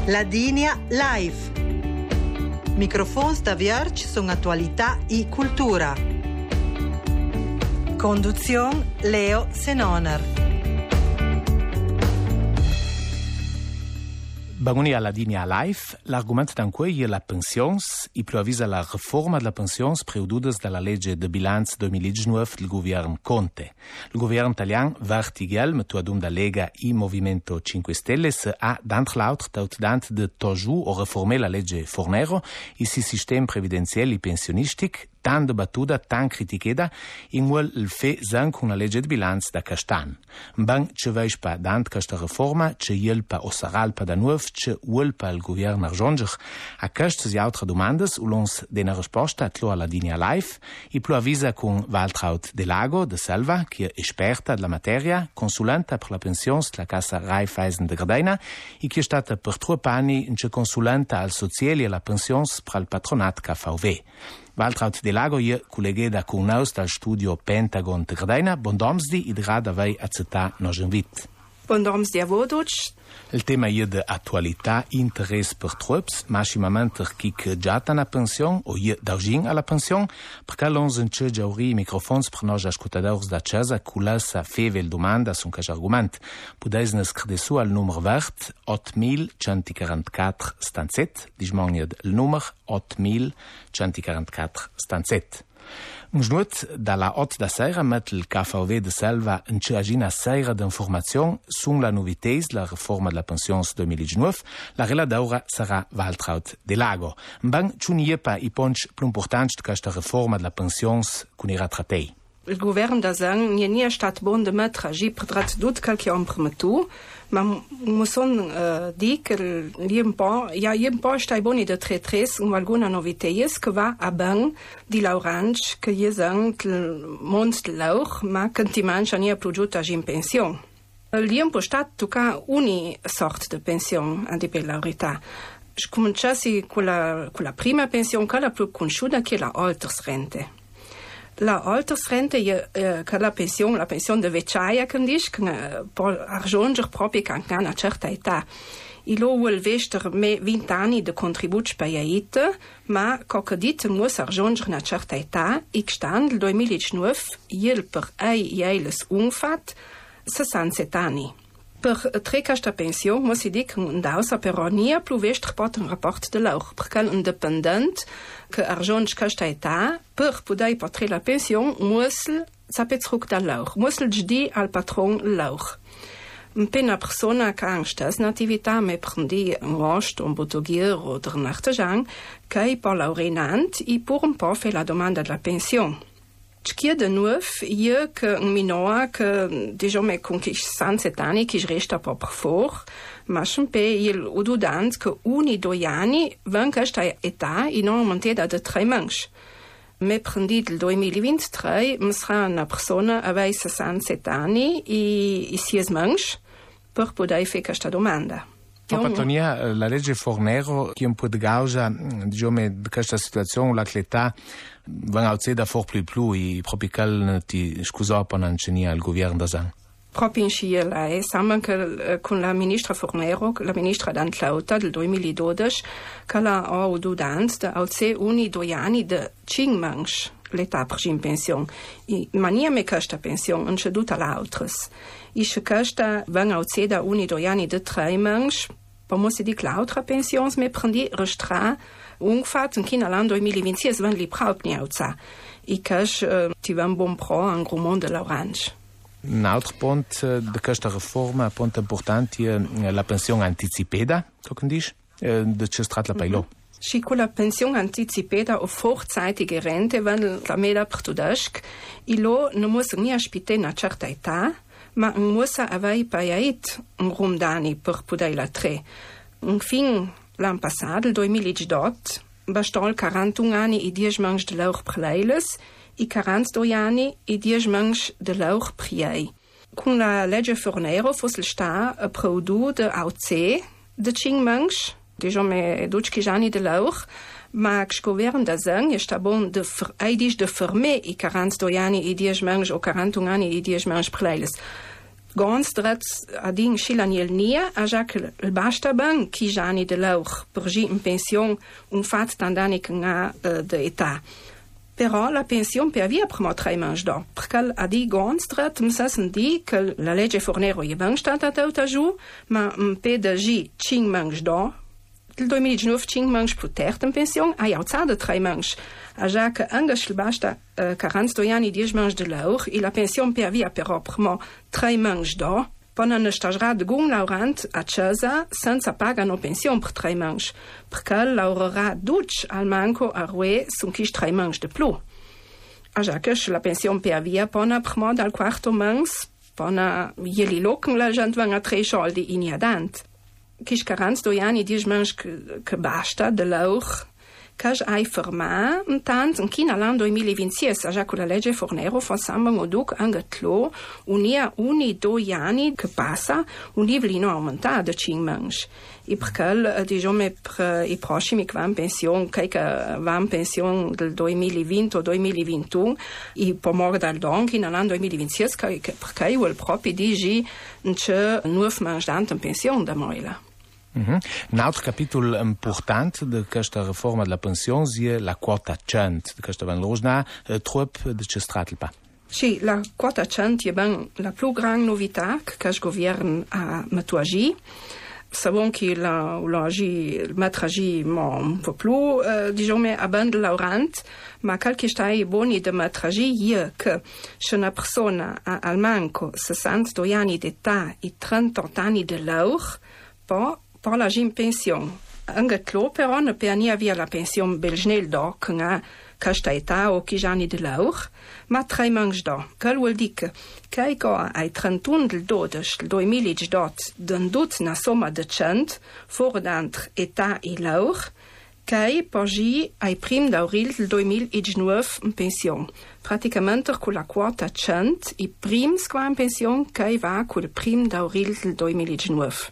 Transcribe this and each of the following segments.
Ladinia Live. Microfons da Vierge sono attualità e cultura. Conduzione Leo Senoner. Bagoni alla Ladinia Live, l'argument d'anquei è la pensions, i più avvisa la riforma della pensions preududas dalla legge de bilanz 2019 del governo Conte. Il governo italiano vertigel, metu adum da Lega i Movimento 5 Stelle, ha d'entre l'autre tautdant de toju o reformer la legge Fornero, i si sistema previdenziale e pensionistic, tan debattuda, tan criticheda, in quel il fe zan con la legge de bilanz da Castan. Mbang ce veis pa dant questa reforma, ce iel pa o saral pa da nuov, ce uel pa il governo arjonger. A queste e altre domandas, ulons dena risposta tlo alla Ladinia Live, i plu avvisa con Waltraud Delago de Selva, che è esperta della materia, consulenta per la pensions della Cassa Raiffeisen de Gardena, e che è stata per 3 anni in consulenta al sociali e la pensions per il patronat KVW. Waltraud Delago je collega con noi dal studio Pentagon de Gardena. Bondomsdi, id rada vei accetta nos invit. Bondomsdi a voduc. Il tema je de attualità, interesse per trups, maximamente kik giata na pension o je daugin alla pension, perché l'ons in ce giauri microfons per nos ascoltadors da casa culassa fevel domanda sun cas argument. Pudeis nes credesu al numero vert 8144 stanzet, dismonied il numero 8144 stanzet. Un snut dalla 8 da sera met il KVW de Selva in ce agina sera d'informazione sulla novités la reforma della pensions 2019. La relatora sarà Waltraud Delago. Mbang ciuniepa i ponch più importanti di questa reforma della pensions con i rattratei. Il governo da Zang nie è stato buon de mettere agi per trat dut qualche ompremetu, ma musson di che un po' stai boni de tre-tres un alguna noviteies che va a bang di l'orange che je zang il mond de lauch, ma che ti mangia nie più agi in pension. Liem po stat tuca uni sort de pension a di per la verità. Cominciassi con la prima pension che la più conosciuta che è la altersrente. La altersrente che la pensione de vecchiaia che dice che può raggiungere proprio anche a una certa età. Il vuol vester me 20 anni di contributo spaiaite, ma che dit muss raggiungere una certa età, e stand il 2019 il per eiles umfat 67 anni. Per tre questa pensione muss si dire che dausa però nie più vester pot un rapport de lauch, perché l'independent che raggiunge questa età per poter portare la pensione muss sapere zurück da lauch, muss di al patron lauch. Una persona che ha un'attività me prendi un rost, un bottogier o un artigian che per laureant e per un po' fa la domanda della pensione. C'è de nuovo io che un minore che diciamo con 67 anni che resta proprio fuori, ma sempre il ududant che 1-2 anni van questa età e non aumentata da 3 mesi. Me prendi il 2023 mi sarà una persona aveva 67 anni e 6 mesi per poter fare questa domanda. Patonia, la legge Fornero che un po' di causa diciamo di questa situazione la l'età van a da for più e proprio che ti scusa per non c'è il governo da Zang. Proprio in Sciela, insieme con la ministra Fornero, la ministra d'Antlauta del 2012, che ha avuto da 1-2 anni di 5 mesi l'età per in pensione. Ma niente questa pensione, non c'è tutta l'altra. E se questa van a da 1-2 anni di 3 mesi, poi si dire che l'altra pensione mi prendi restra ungefähr in China l'anno 2026 van li praut ni autza. E che ti van bon pro un gros monde l'orange. Un altro punto di questa riforma, punto importante, è la pensione anticipata, come dici? De ce strat la pailo. Și cu la pensione anticipata o vorzeitige Rente, wenn la meda pertudesc, ilo nu muss ni aspite una certa età, ma muss avei paiait un rum d'anni per poder la tre. Un fin l'anno passato, il 2018, bastol 41 anni e 10 mesi de lauch preleiles e 42 anni e 10 mesi de lauch priei. Con la legge Fornero fosse sta a produ de AUC de 5 mesi, diciamo 12 anni de lauch, ma il governo da Zang è sta bon de ferme e 42 anni e 10 mesi o 41 anni e 10 mesi preleiles. Gons drets adin Schilaniel nia, a Jacques il basta ben, chi jani de lauch, per gi in pension, un fat tandani nga de età. Però la pension per via primo 3 mangi do, perché a di gonstrat msassen di che la legge Fornero je ben stata tauta giù, ma PDG 5 mangi do, il 2019 5 mangi più terza in pension, a jauzade 3 mangi. A già che anche basta 42 anni 10 mangi de lauch, e la pension per via però primo 3 mangi do, pona ne stagerà de gun laurant a Cesa senza pagano pension per 3 mangi, perché laurerà duc al manco a rue sun chis 3 mangi de plu. A già che la pension per via pona primo dal quarto mangs, pona jeli locken la gent van a 3 soldi in iadant. Chis 42 anni 10 mangi che basta de lauch, Kaj ai ferma, intant in China l'anno 2026, già con la legge Fornero fa samba moduc angatlo, unia uni 2 anni che passa, un livello aumentato di 5 mangi. E perché, diciamo, per i prossimi che vanno in pensione, che vanno in pensione del 2020 o 2021, e poi morire dal don, che nell'anno 2026, perché io proprio dici che 9 mangi in pensione da moila. Un altro capitolo importante di questa riforma della pensione è la quota 100, di questa van losna, trop di Cestratelpa. Sì, la quota 100 è ben la più grande novità che il governo ha messo agì. Sappiamo che la mettere agì un po' più, diciamo, a ben de laurant, ma qualche stai buoni di mettere agì è che se una persona ha al manco 62 anni d'età e 38 anni di lauch, poi parla in pension. Anche tlo però ne per nie via la pension belgnel do, che ha questa età o chi anni di lauch, ma 3 mangi do. Che vuol dire che ai 31 del 12 del 2018 dondut una somma di 100 fuori d'antre età e lauch, che poi ai prim d'avril del 2019 in pension. Praticamente con la quota 100 i prims qua in pension che va con il prim d'avril del 2019.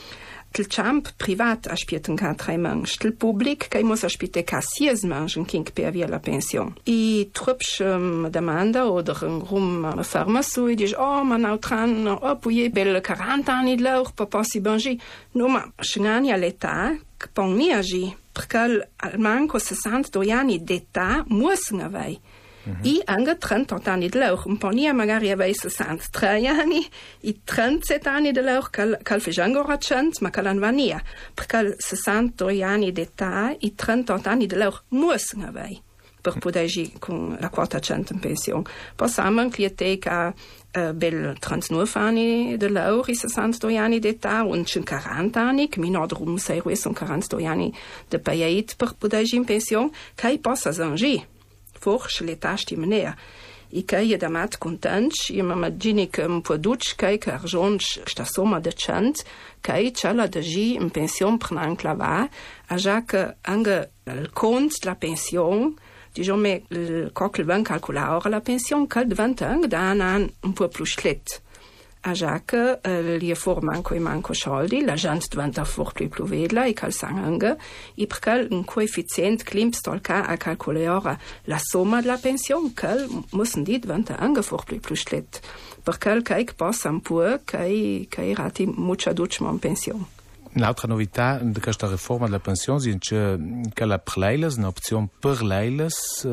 Il camp privat aspetta ca 3 mangi, il pubblic che muss aspetta ca 6 mangi king per via la pension. I trupsch domanda oder rum ferma su e dice ma nou tran poi bel 40 anni lauch per passi bangi. No ma schnani all'età che pon mi agi perché al manco 62 anni d'età mussen avei. I anche 38 anni di lauch, un po' magari aveva 63 anni, e 37 anni di lauch, che fa ancora 100, ma che non va via, perché 62 anni d'età e 38 anni di lauch mussono avere, per poter agire con la quota 100 in pensione. Possiamo anche dire che bel 39 anni di lauch e 62 anni d'età, e 40 anni, che mi non drum sei sono 42 anni di payait per poter agire in pensione, che possa agire. Forse le tasti menea. E che è da mat contents, e mi immagino che un po' duc che argions questa somma di 100, che c'è la dagi in pensione per non clavare, a già che anche il conto della pensione, diciamo, il coccolo ben calcolare la pensione, che diventa anche da un po' più schlet. A già che li for manco soldi, la gente diventa for più vedla e calzang anche, e perché un coefficiente klimpstolka a calcolare la somma della pensione, che mussen di diventa anche for più schlet. Perché che passa un po' che rati molto duccio in pensione. Un'altra novità di questa riforma della pensione è che la preleiles, un'opzione per leiles,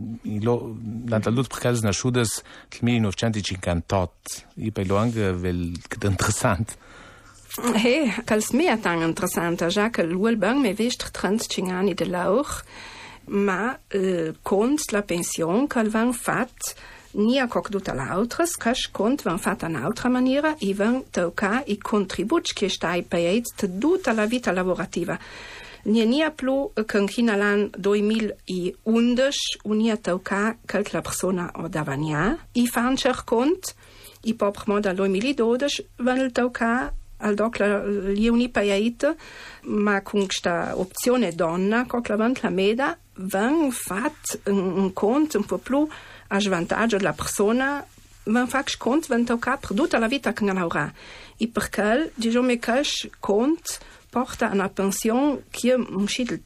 l'antallut perché è nasciuta nel 1958. E per lo anche è interessante. Che è tan interessante, già che l'uelbang mi vist 35 anni di lauch, ma con la pensione che van fatto nia coc tutta l'altres, cash cont van fatta un'altra maniera e van tocca i contributi che stai payat tutta la vita lavorativa. Nia più che in l'anno 2011 unia tocca che la persona o davania i fan cer cont i proprio dal 2012 van tocca al doc li uni payat ma con questa opzione donna coc la meda van fat un conto un po' più a svantaggio della persona, van fac cont van tocca per tutta la vita che non avrà. E perché, diciamo che cont porta una pensione che è il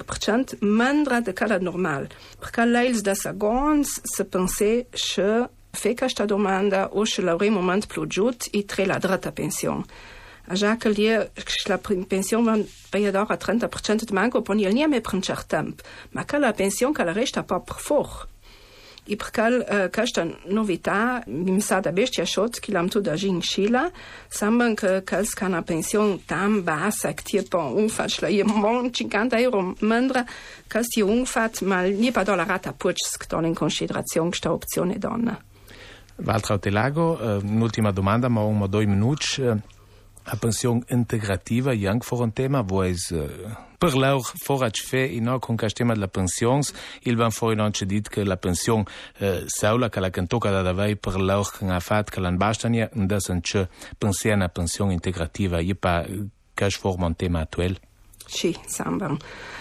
30-35% meno di quella normale. Perché lei da sagons se pense che Fe questa domanda o se l'avremo moment più giut e tre la dretta pensione. A già che lì la pensione va per a 30% di manco poi il niente per un certo tempo, ma che la pensione che la resta pa per fuori. E perché questa novità mi sa da bestia shot che l'am tu da in Scila, sembra che una pensione tan bassa che tipo umfat la io mon 50 euro mendra che si umfat ma nie pa dollar rata pucs che in considerazione questa opzione donna. Waltraud Delago, un'ultima domanda, ma 1 o 2 minuti. La pensione integrativa è anche un tema, voi per loro forage fe con questo tema della pensione, il van fuori non c'è dit che la pensione sola che la tocca da davvero per loro che ha fatto che non basta nie, non c'è pensare una pensione integrativa, è pas che forma un tema attuale. Sì, sembra.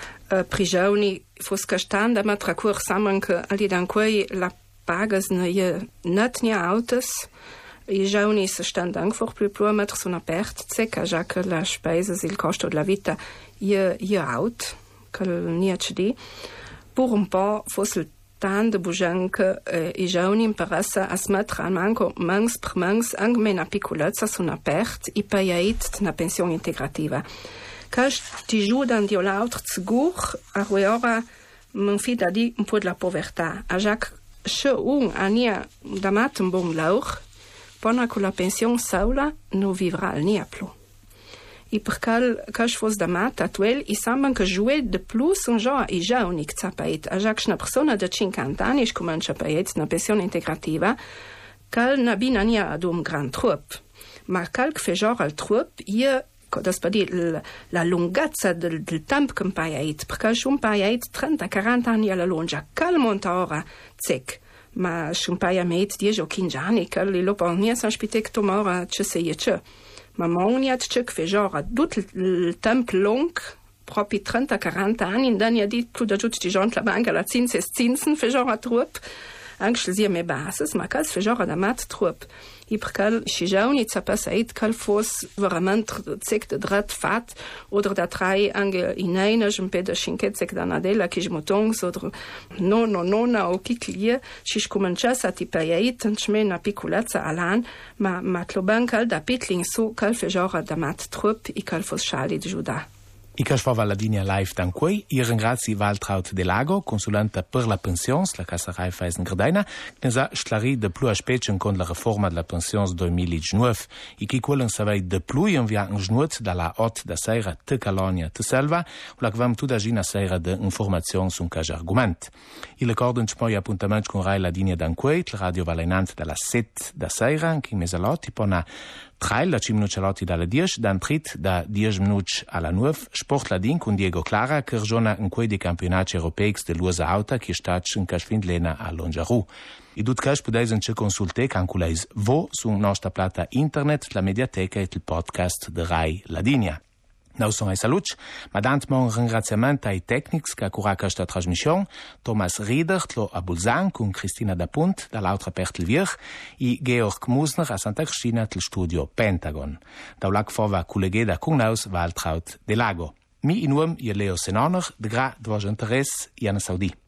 Prigioni fosse castanda, ma tra cui sembra che all'idante la pagas ne net nie autos. I giovani si stanno anche più a mettere su una perdita, già che la spesa, il costo della vita è alto, che non c'è di. Per un po' fosse il tanto buon che i giovani imparassero a mettere an manco mens per mens anche una piccolezza su una perdita e pagare una pensione integrativa. Che ti aiutano di l'altro sicuro a ora non fida di un po' della povertà. Già che se un anno da matto un buon lavoro, poi con la pensione sola non vivrà niente più. E perché je fosse da mat attuale, i sembra che jouer de plus un giorno i giovani che sapete. A già che una persona di 50 anni comincia a pagare una pensione integrativa, che non ha ad un gran trupp. Ma che fa giorno al trupp, das per dire la lunghezza del tempo che pagare, perché se un pagare 30-40 anni alla lunga, che monta ora, zic. Ma schon pa ja met 10 o 15 anni che li lo pon nie san spitek tomora ce se je. Ma moniat ce che genre tutto il tempo long proprio 30-40 anni in dan ja dit più da tutti i giorni la banca la zinsen fe genre trup anche se me basis ma cas fe genre da mat trup. I perché si giovani sapessait che fosse veramente zec de drat fat oder da drei ange in einer un pe de cinquet da nadella che jmotongs oder nonna o kiklie si cominciasse a tipaiait en una piccolezza alan ma tloban cal da pitling so cal fe genre da mat trup i cal fosse schali de juda. I che fa la linea live da qui, io ringrazio Waltraud Delago, consulente per la pensione, la Cassa Raiffeisen Gardena, che sa sclarì de più aspetti con la riforma della pensione 2019, e che quello sapeva de più invia un giorno dalla 8 da sera te Calonia te Selva, la che vam tutta gina sera de informazione su un caso argomento. Il ricordo ci poi appuntamento con Rai la linea da qui, la radio valenante dalla 7 da sera, che in mesalotti pona 3 minuti dalle 10, dan trit da 10 minuti alla 9, Sport Ladin con Diego Clara, che ragiona in quei dei campionati europei dell'USA Auta, che sta in Casfindlena a Longiarù. I dut cash podeis anche consultare canculeis vo su nostra plata internet, la mediateca e il podcast de Rai Ladinia. Now sono ai saluti, ma dant un ringraziamento ai tecnici che ha curato questa trasmissione, Thomas Rieder, a Bulzan, con Cristina Dapunt, dall'altra parte il Vier, e Georg Musner a Santa Cristina, del studio Pentagon. Da ulac fova collegeda con naus Waltraud Delago. Mi in uom, Leo Senoner, de gra, dvož interes, Jana Saudi.